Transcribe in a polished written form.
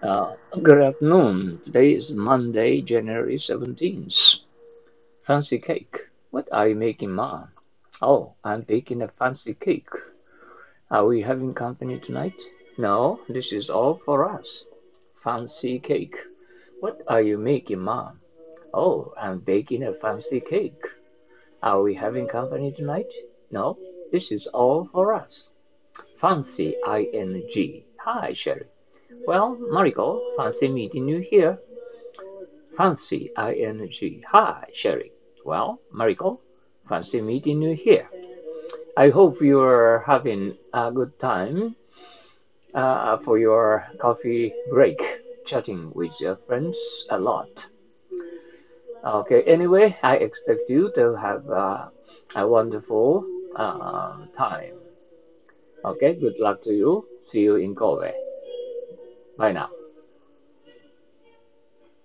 Good afternoon. Today is Monday, January 17th. Fancy cake. What are you making, Mom? Oh, I'm baking a fancy cake. Are we having company tonight? No, this is all for us. Fancy cake. What are you making, Mom? Oh, I'm baking a fancy cake. Are we having company tonight? No, this is all for us. Fancy ing. Hi, Sherry. Well, Mariko, fancy meeting you here. Fancy ing. Hi, Sherry. Well, Mariko, fancy meeting you here. I hope you're having a good time for your coffee break, chatting with your friends a lot. Okay, anyway, I expect you to have a wonderful time. Okay, good luck to you. See you in Kobe. Bye now.